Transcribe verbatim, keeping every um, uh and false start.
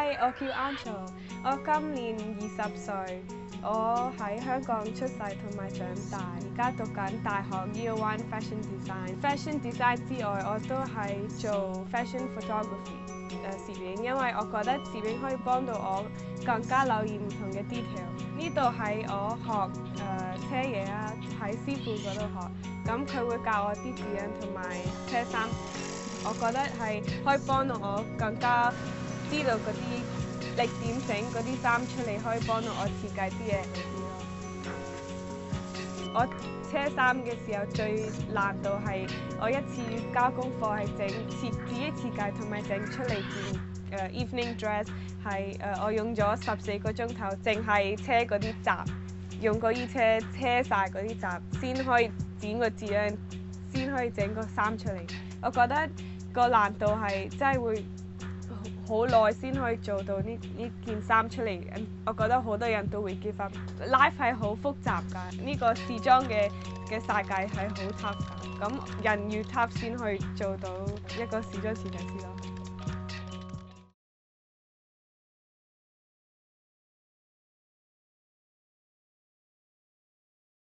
Hi，我叫 Angel，我今年二十歲，我喺香港出世同埋長大，而家讀緊大學 Year One Fashion Design。Fashion Design 之外，我都係做 Fashion Photography 誒攝影，因為我覺得攝影可以幫到我更加留意唔同嘅 detail。呢度係我學誒、呃、車嘢啊，喺師傅嗰度學，咁佢會教我啲指引同埋車衫。我覺得係可以幫到我更加知道嗰啲力點整嗰啲衫出嚟，可以幫到我設計啲嘢好啲咯。我車衫嘅時候最難度係我一次交功課係整設自己設計同埋整出嚟件誒 evening dress 係誒、呃、我用咗十四個鐘頭，淨係車嗰啲閘，用嗰啲車車晒嗰啲閘先可以剪個字樣，先可以整個衫出嚟。我覺得個難度係真係會好耐先可以做到呢呢件衫出嚟。我覺得好多人都會 give up。Life 係好複雜㗎，呢、這個時裝嘅嘅世界係好 tough 㗎。咁人越 tough 先可以做到一個時裝設計師咯。